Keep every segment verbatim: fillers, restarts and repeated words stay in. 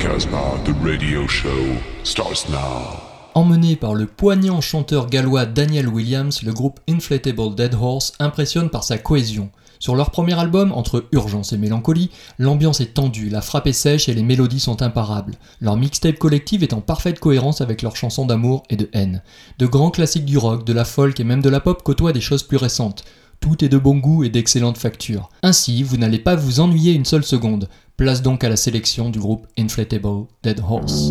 Casbah, the radio show starts now. Emmené par le poignant chanteur gallois Daniel Williams, le groupe Inflatable Dead Horse impressionne par sa cohésion. Sur leur premier album, entre urgence et mélancolie, l'ambiance est tendue, la frappe est sèche et les mélodies sont imparables. Leur mixtape collective est en parfaite cohérence avec leurs chansons d'amour et de haine. De grands classiques du rock, de la folk et même de la pop côtoient des choses plus récentes. Tout est de bon goût et d'excellente facture. Ainsi, vous n'allez pas vous ennuyer une seule seconde. Place donc à la sélection du groupe Inflatable Dead Horse.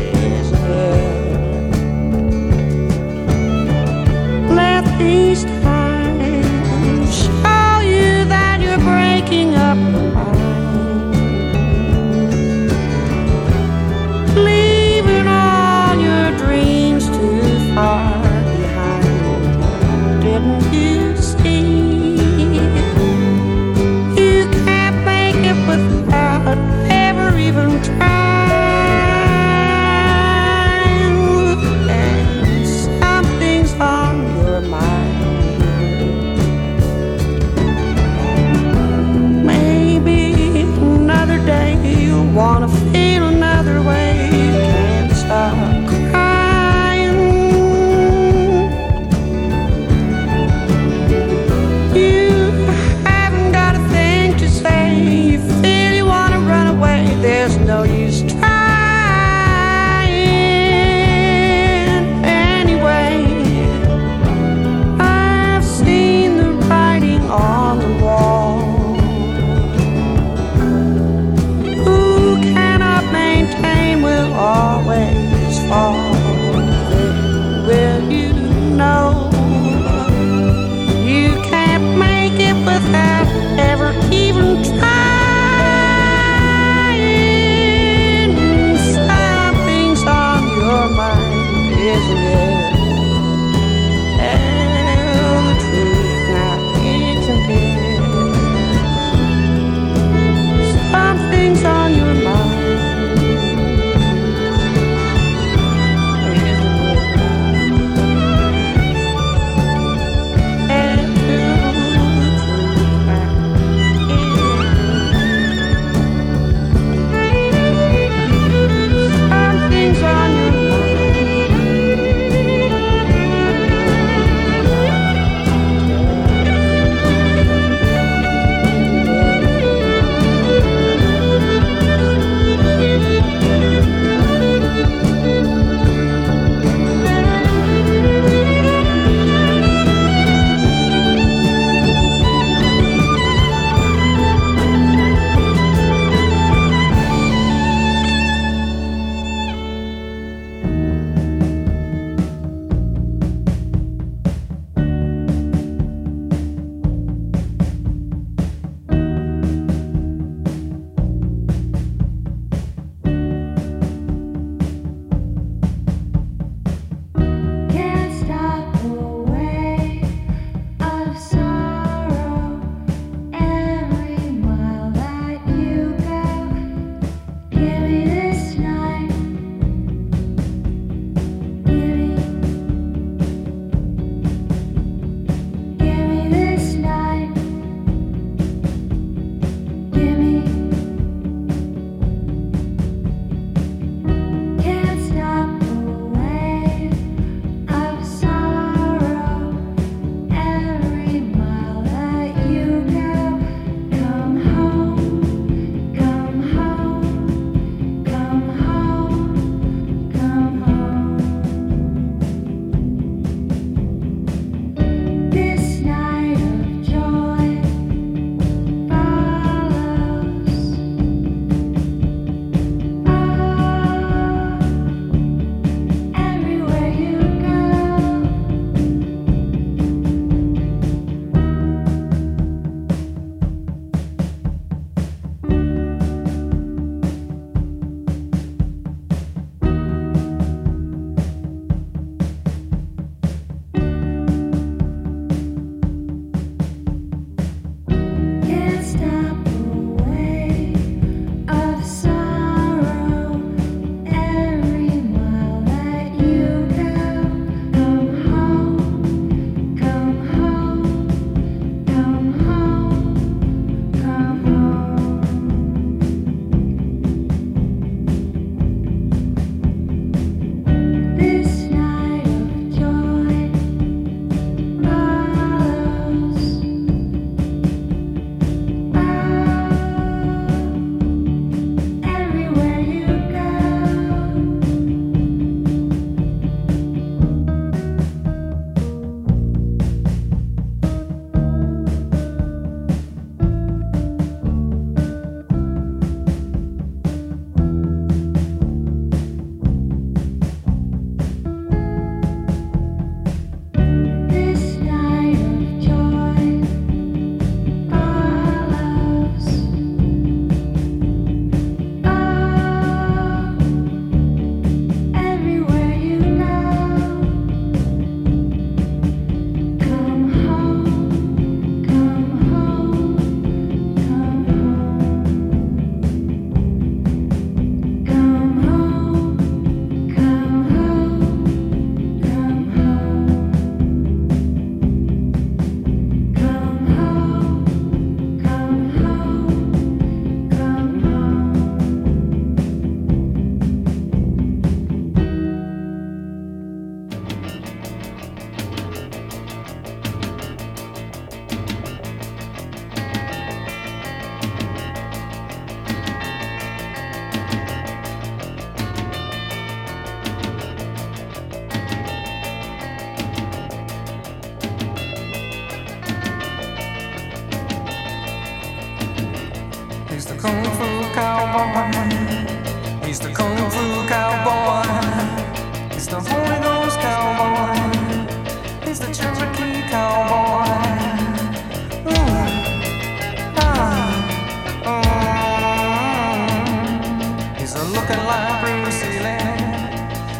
These times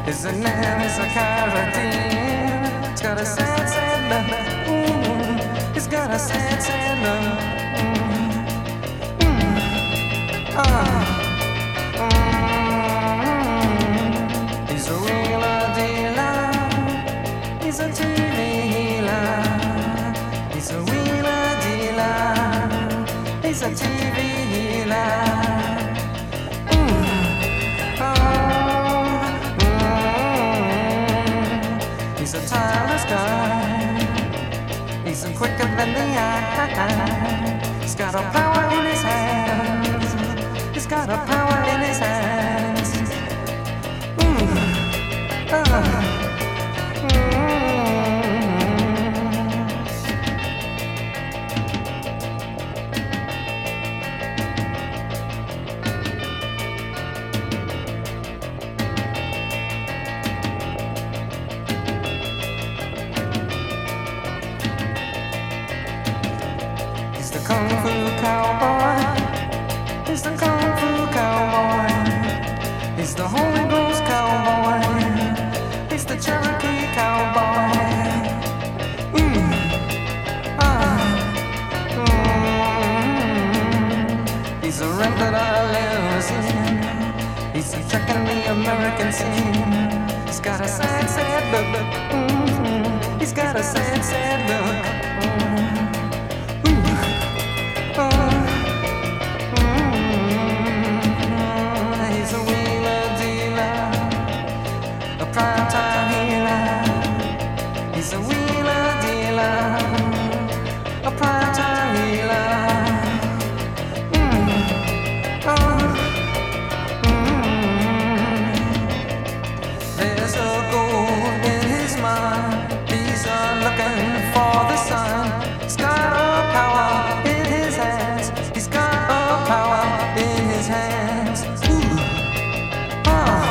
His name is a Carradine. He's got a sad, sad love. Mm. He's got a sad, sad love. Mm. Mm. Ah. Mm. He's a wheeler dealer. He's a T V healer. He's a wheeler dealer. He's a T V healer. He's a tireless guy. He's a quicker than the eye. He's got a power in his hands. He's got a power in his hands. Mm. Ah. Kung Fu Cowboy. He's the Kung Fu Cowboy. He's the Holy Ghost Cowboy. He's the Cherokee Cowboy. Mm. Ah. Mm. He's a regular limousine. He's a check in the American scene. He's got a sad, sad look. Mm. He's got a sad, sad look. Mm. Prime-time healer. He's a wheeler dealer. A prime-time healer. Mm. Oh. Mm. There's a gold in his mind. He's a looking for the sun. He's got a power in his hands. He's got a power in his hands. Ooh. Oh.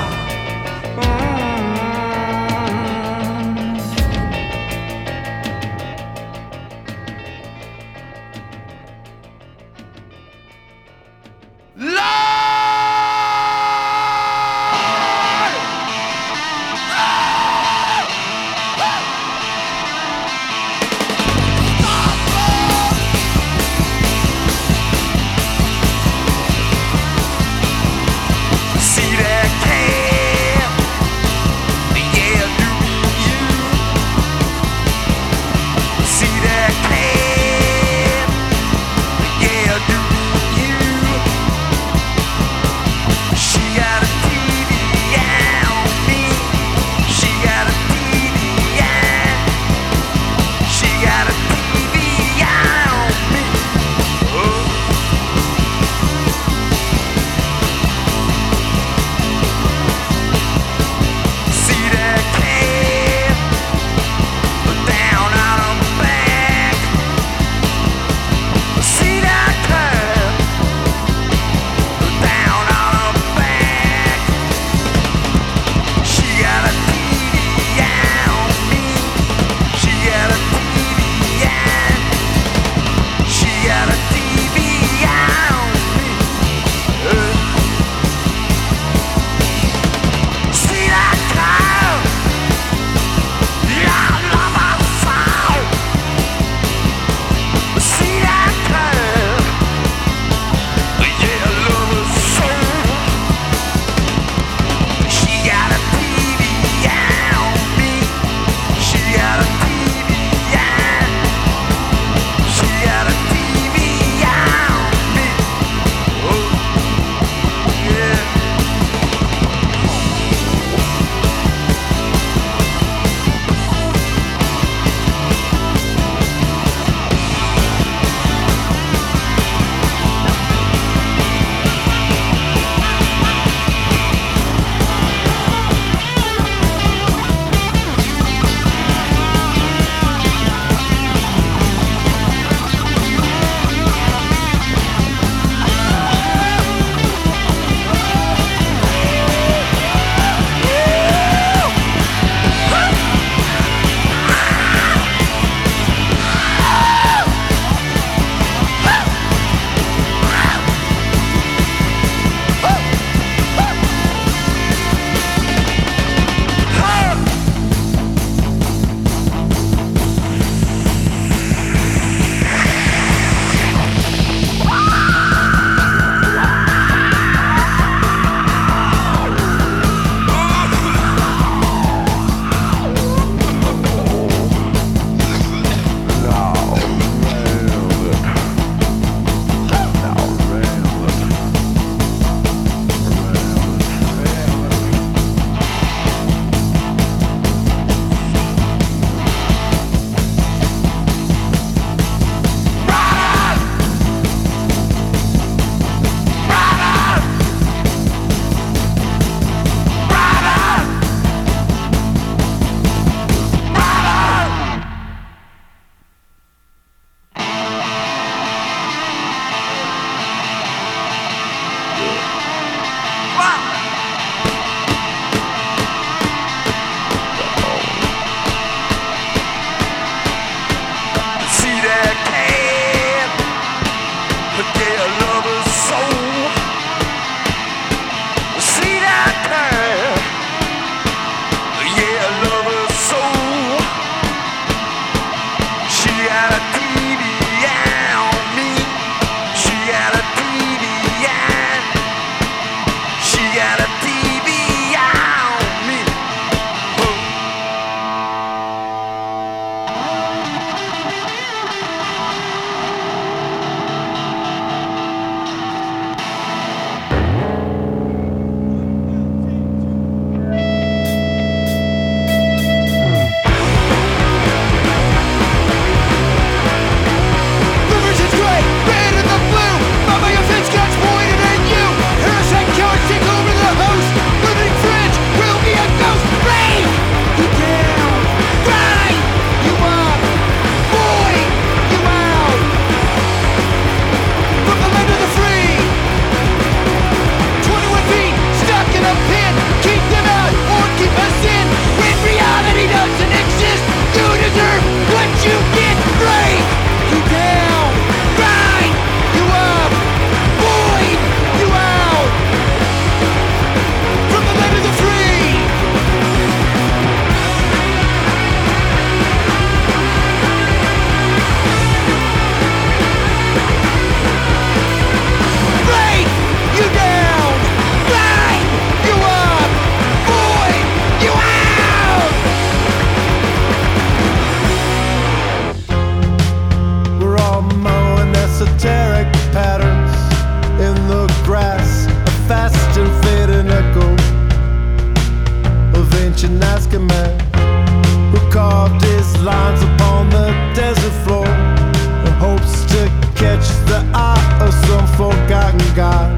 African man who carved his lines upon the desert floor and hopes to catch the eye of some forgotten god.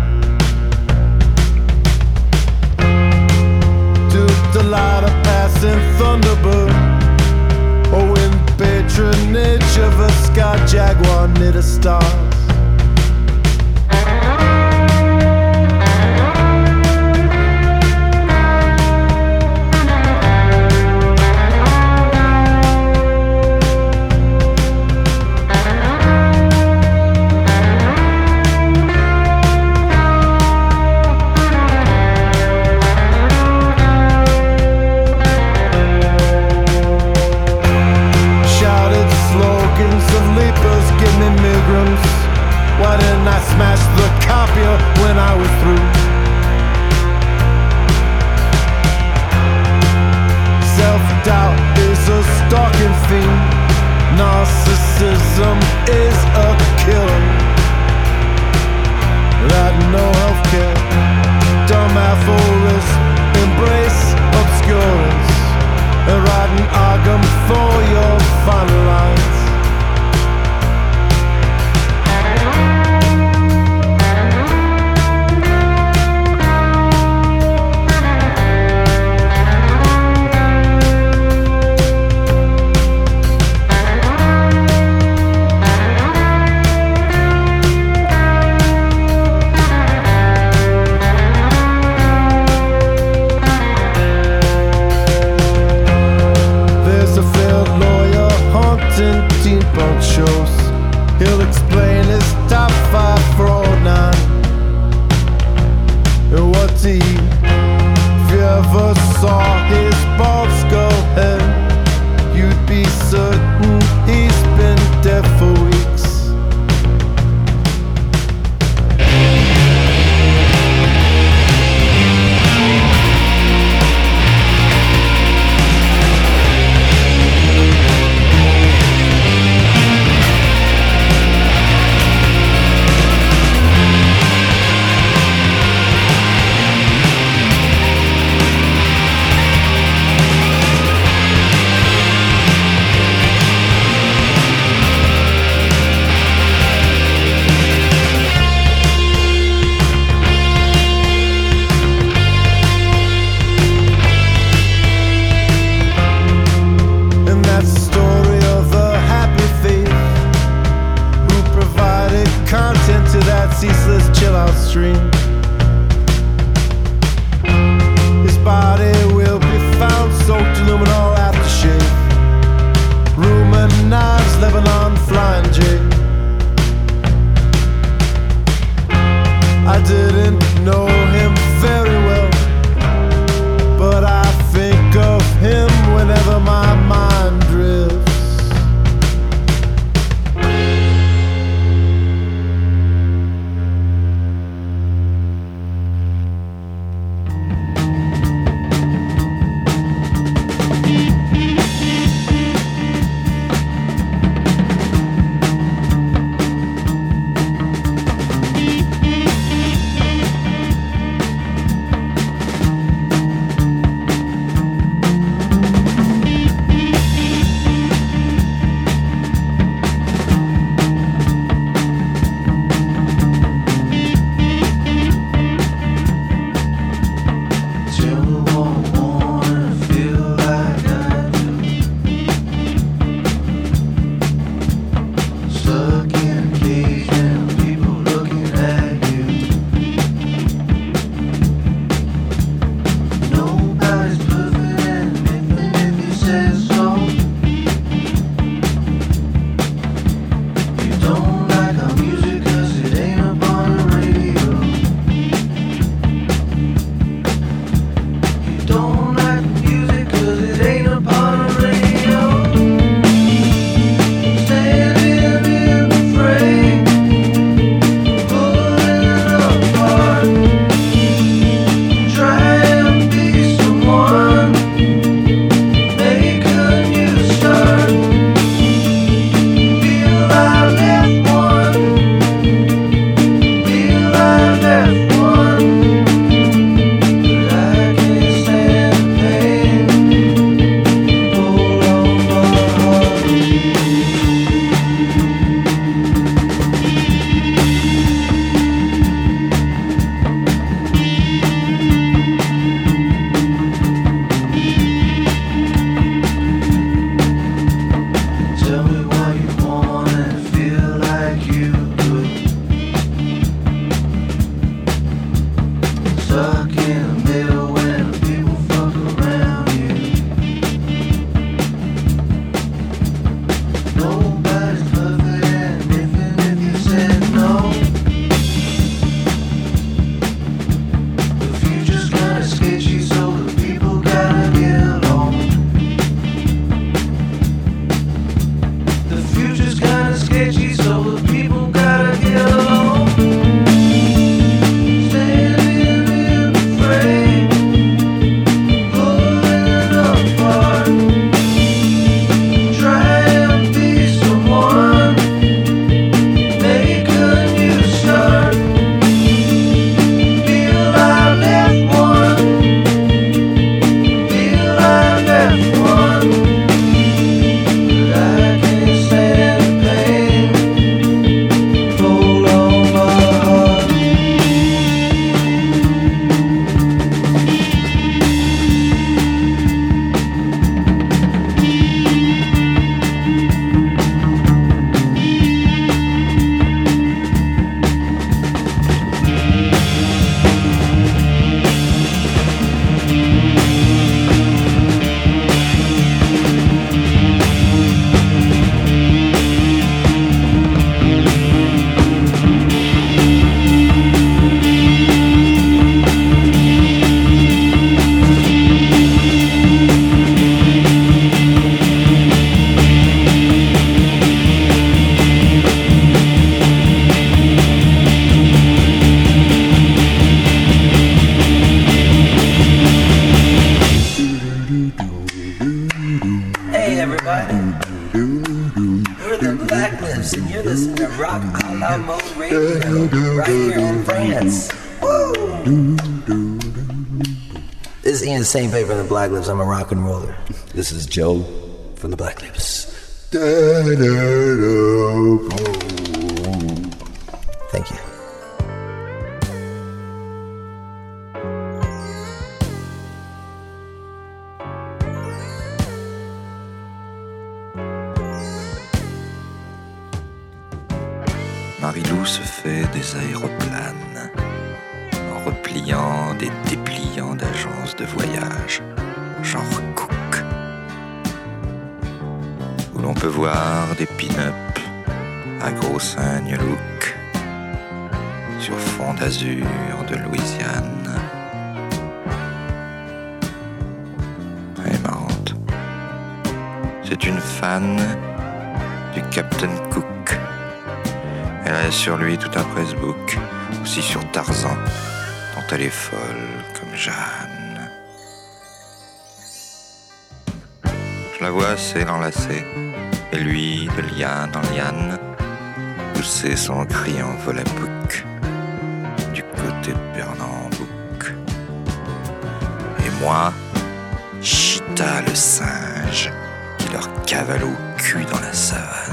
To the light of passing thunderbird, or in patronage of a sky jaguar near the stars. Why didn't I smash the copier when I was through? Self-doubt is a stalking fiend. Narcissism is a killer. That no healthcare, dumb aphorisms embrace obscurance, and writing argum for your final lines. Teen punk shows, he'll explain his top five for all nine. And what to eat, if you ever saw his bald skull head, you'd be certain he's been dead for weeks. Lips, and you're listening to Rock a la Mode Radio right here in France. Woo! This is Ian Saint Paper from the Black Lips. I'm a rock and roller. This is Joe from the Black Lips. Thank you. Marilou se fait des aéroplanes en repliant des dépliants d'agences de voyage, genre Cook, où l'on peut voir des pin-up à gros signes look sur fond d'azur de Louisiane. Elle est marrante. C'est une fan du Captain Cook. Elle a sur lui tout un pressbook, aussi sur Tarzan, dont elle est folle comme Jeanne. Je la vois assez l'enlacer, et lui, de liane en liane, pousser son cri en volapouc du côté de Pernambouc. Et moi, Chita le singe, qui leur cavale au cul dans la savane.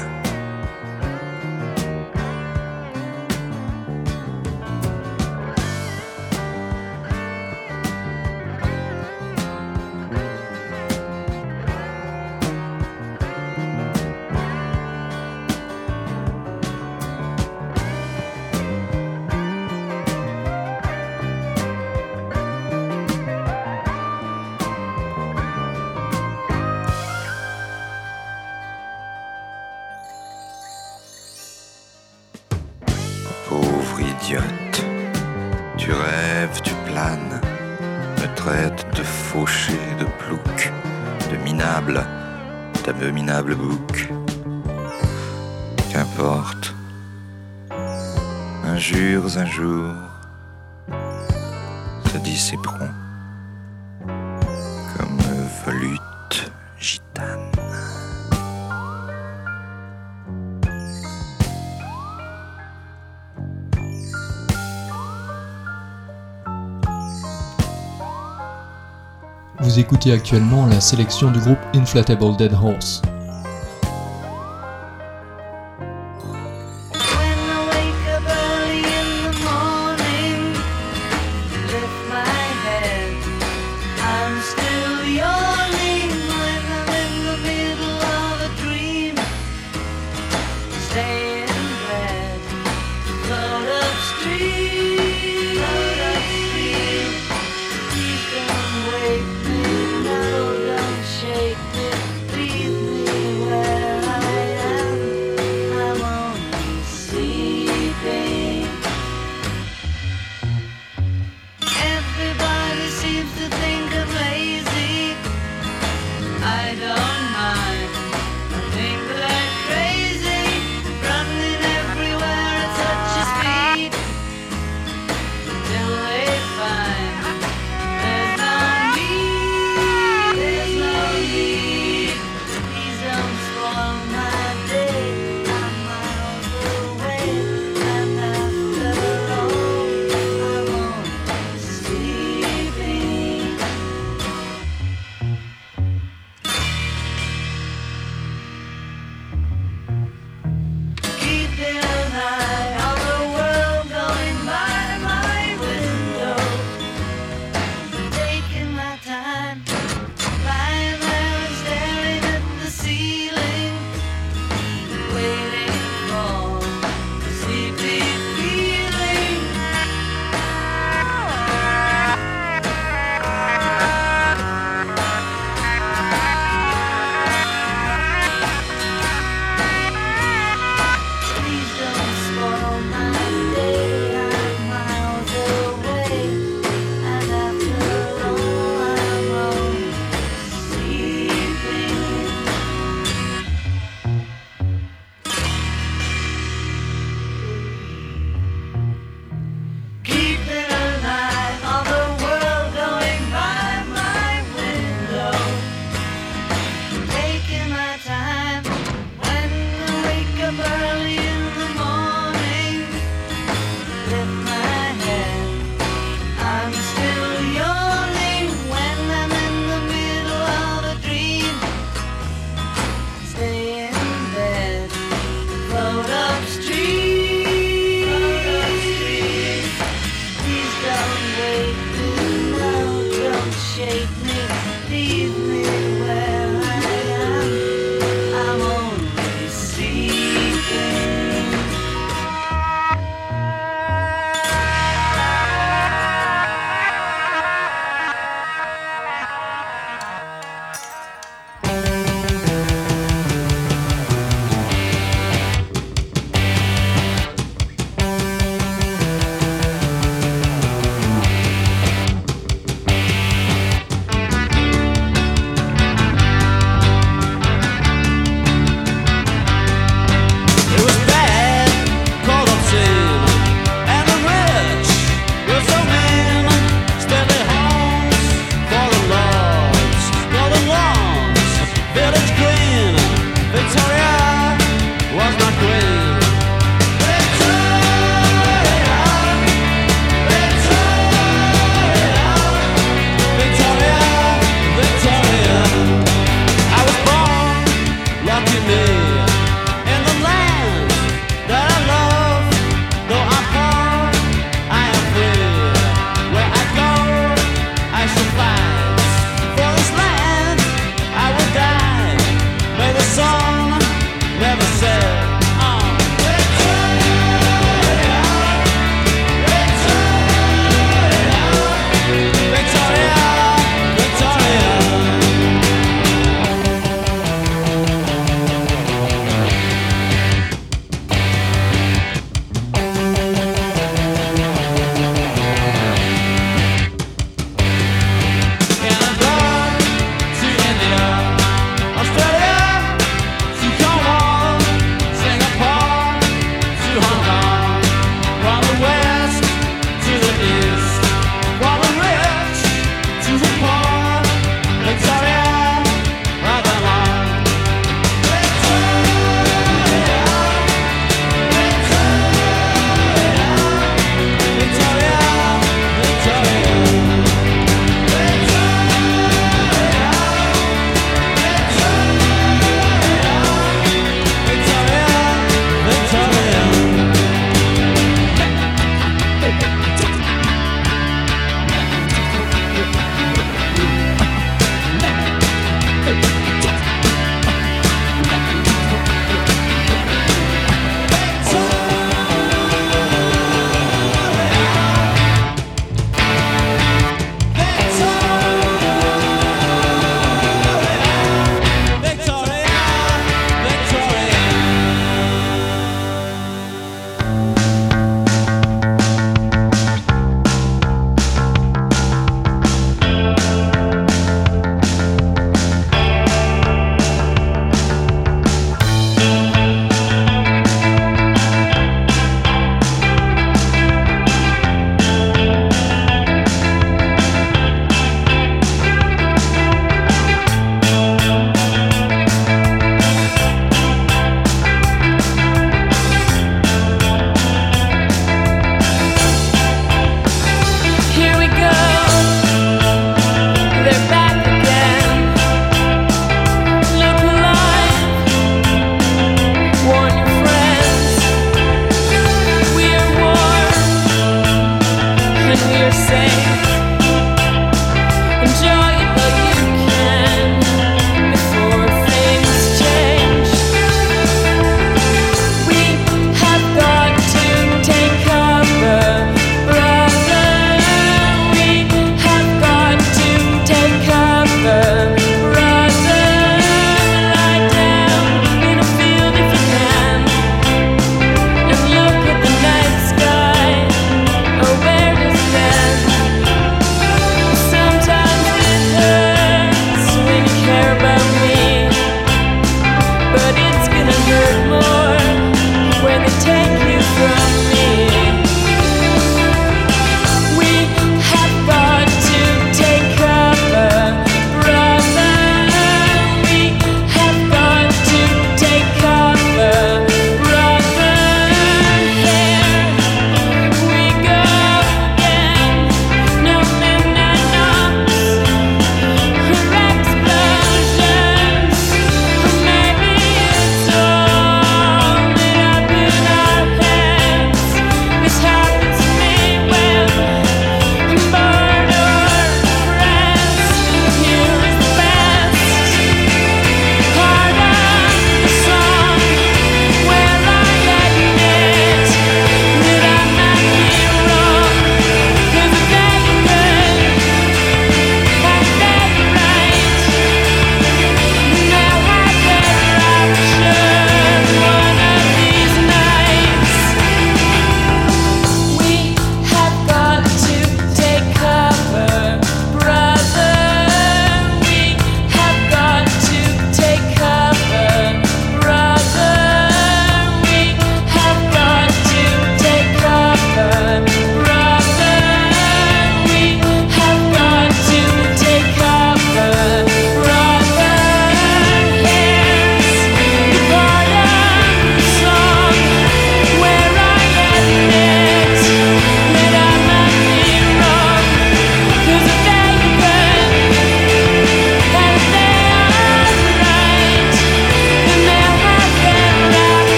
Pauvre idiote, tu rêves, tu planes, me traites de fauché, de plouc, de minable, d'abominable bouc. Qu'importe, injures un jour se dissiperont comme volutes gitanes. Vous écoutez actuellement la sélection du groupe Inflatable Dead Horse. Everybody seems to think I'm lazy.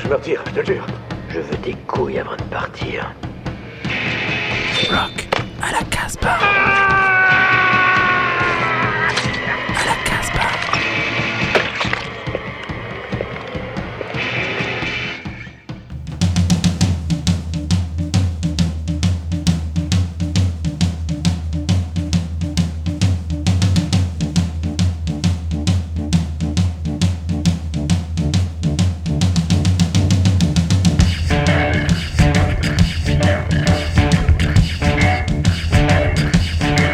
je me retire, je te le jure. Je veux tes couilles avant de partir. Rock à la Casbah. À la Casbah. Yeah.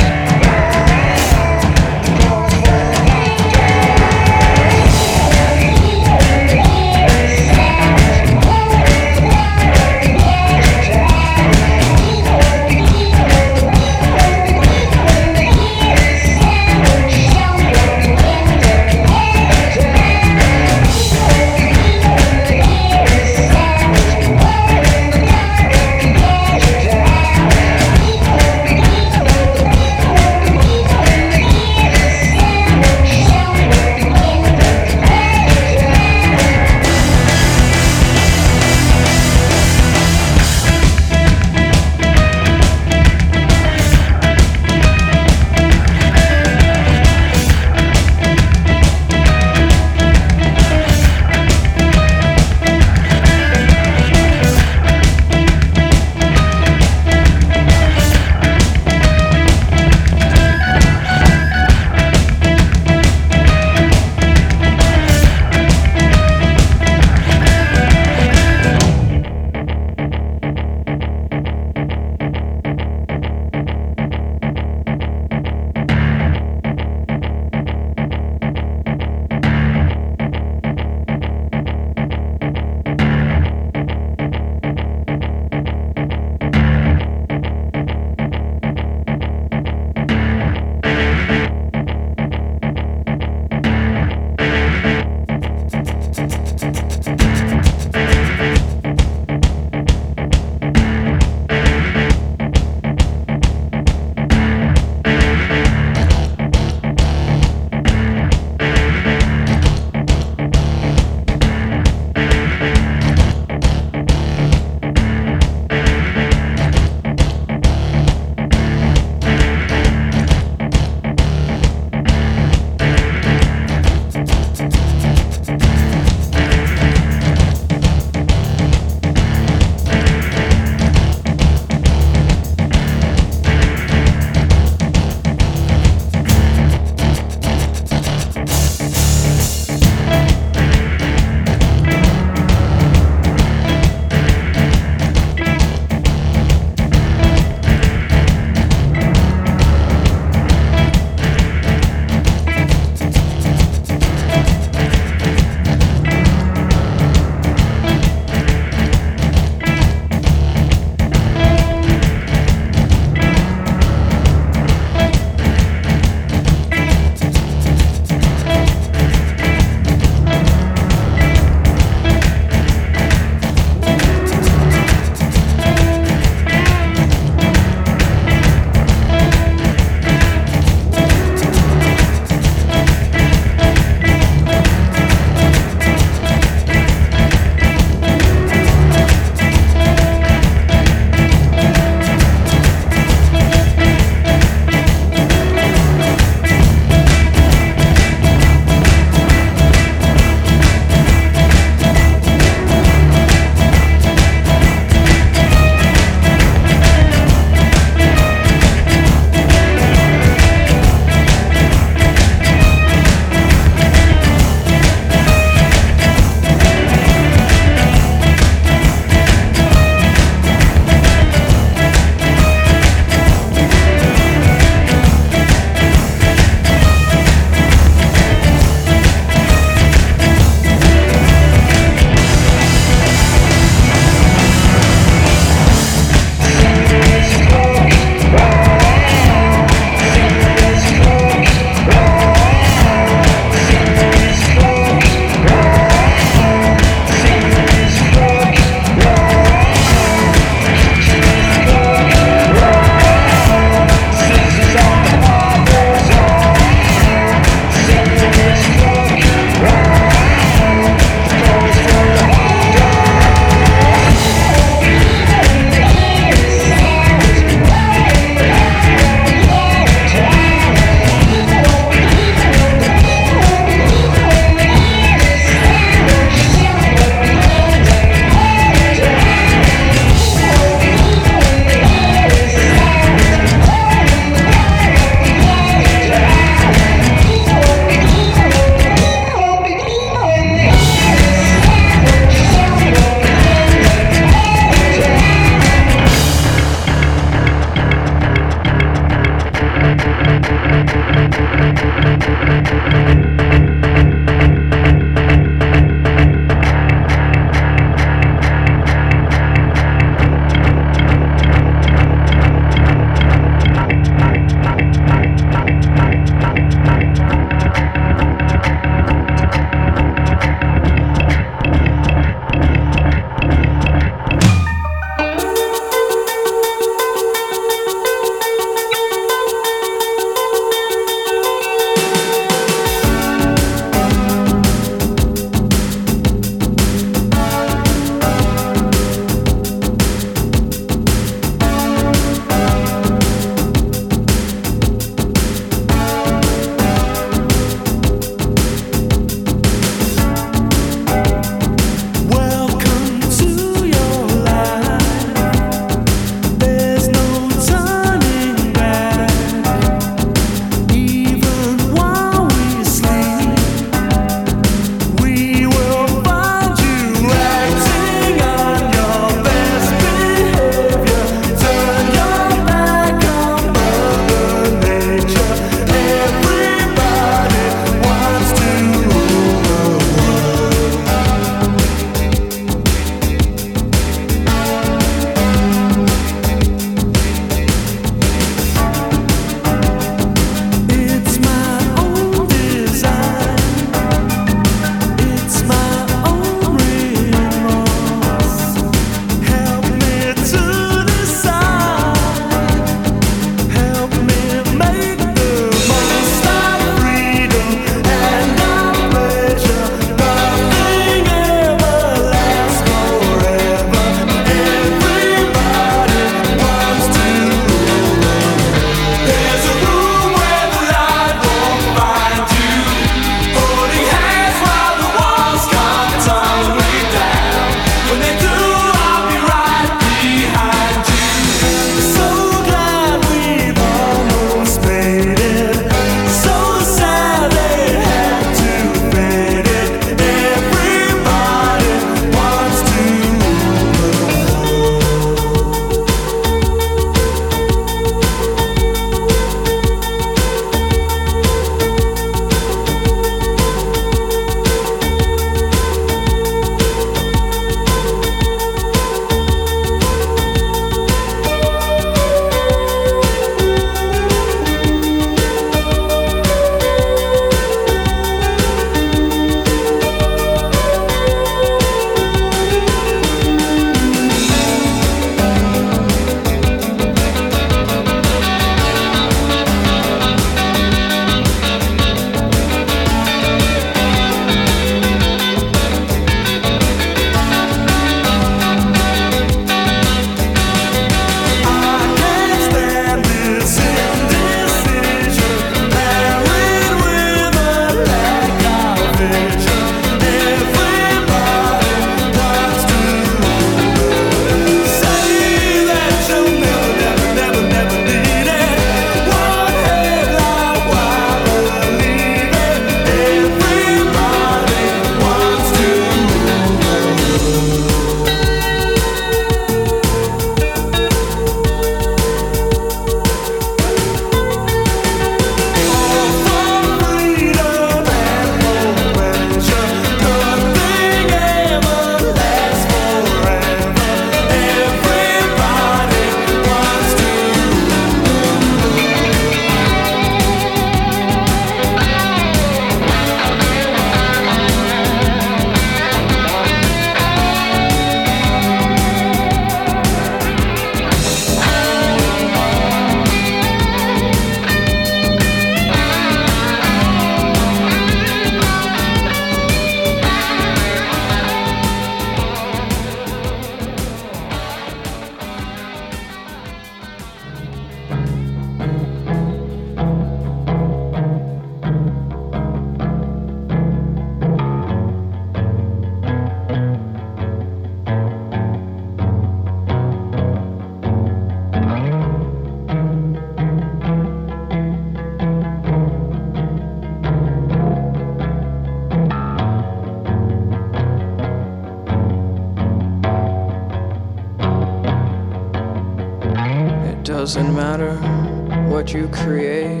doesn't matter what you create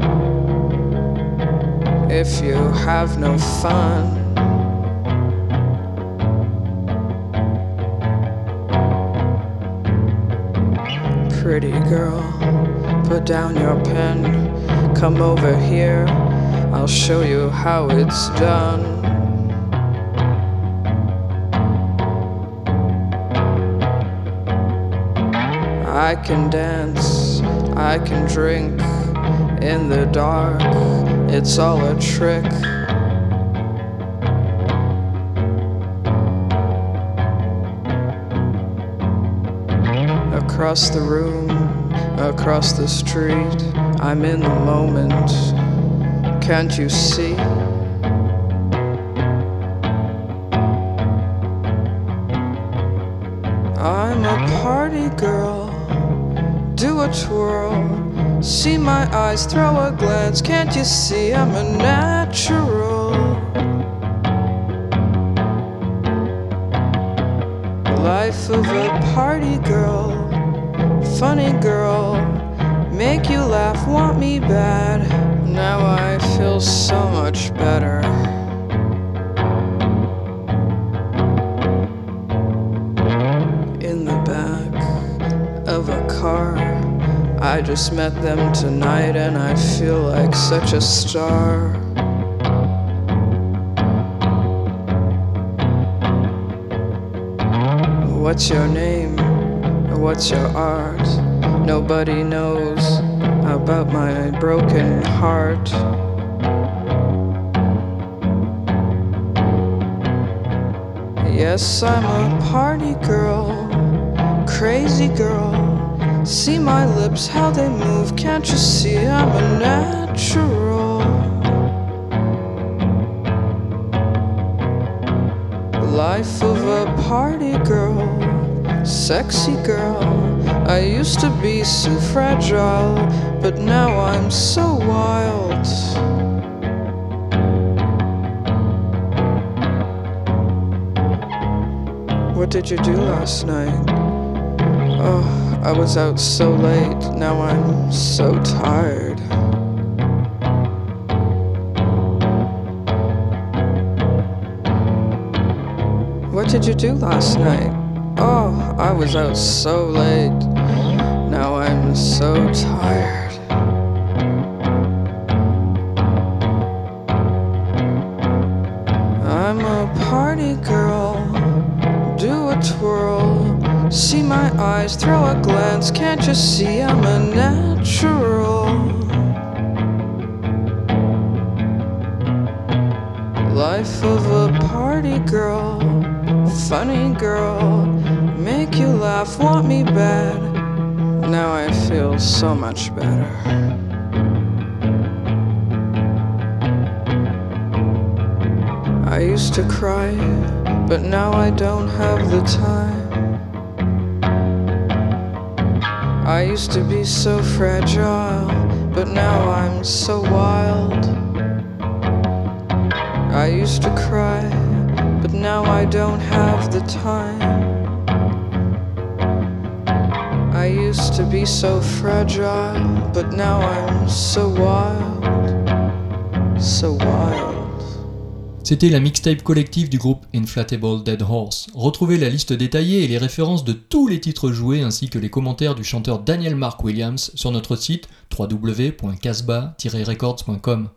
if you have no fun. Pretty girl, put down your pen, come over here, I'll show you how it's done. I can dance, I can drink in the dark, it's all a trick. Across the room, across the street, I'm in the moment, can't you see? I'm a party girl, do a twirl, see my eyes, throw a glance, can't you see I'm a natural? Life of a party girl, funny girl, make you laugh, want me bad, now I feel so much better. In the back of a car, I just met them tonight and I feel like such a star. What's your name? What's your art? Nobody knows about my broken heart. Yes, I'm a party girl, crazy girl. See my lips, how they move, can't you see I'm a natural? Life of a party girl, sexy girl. I used to be so fragile, but now I'm so wild. What did you do last night? Oh, I was out so late, now I'm so tired. What did you do last night? Oh, I was out so late, now I'm so tired. I'm a party girl, do a twirl, see my eyes, throw a glance, can't you see I'm a natural? Life of a party girl, funny girl, make you laugh, want me bad, now I feel so much better. I used to cry, but now I don't have the time. I used to be so fragile, but now I'm so wild. I used to cry, but now I don't have the time. I used to be so fragile, but now I'm so wild, so wild. C'était la mixtape collective du groupe Inflatable Dead Horse. Retrouvez la liste détaillée et les références de tous les titres joués ainsi que les commentaires du chanteur Daniel Mark Williams sur notre site w w w point casbah tiret records point com.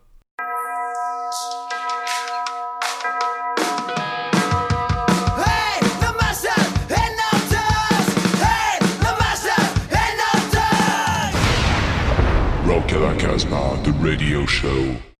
Rock à la Casbah, the radio show.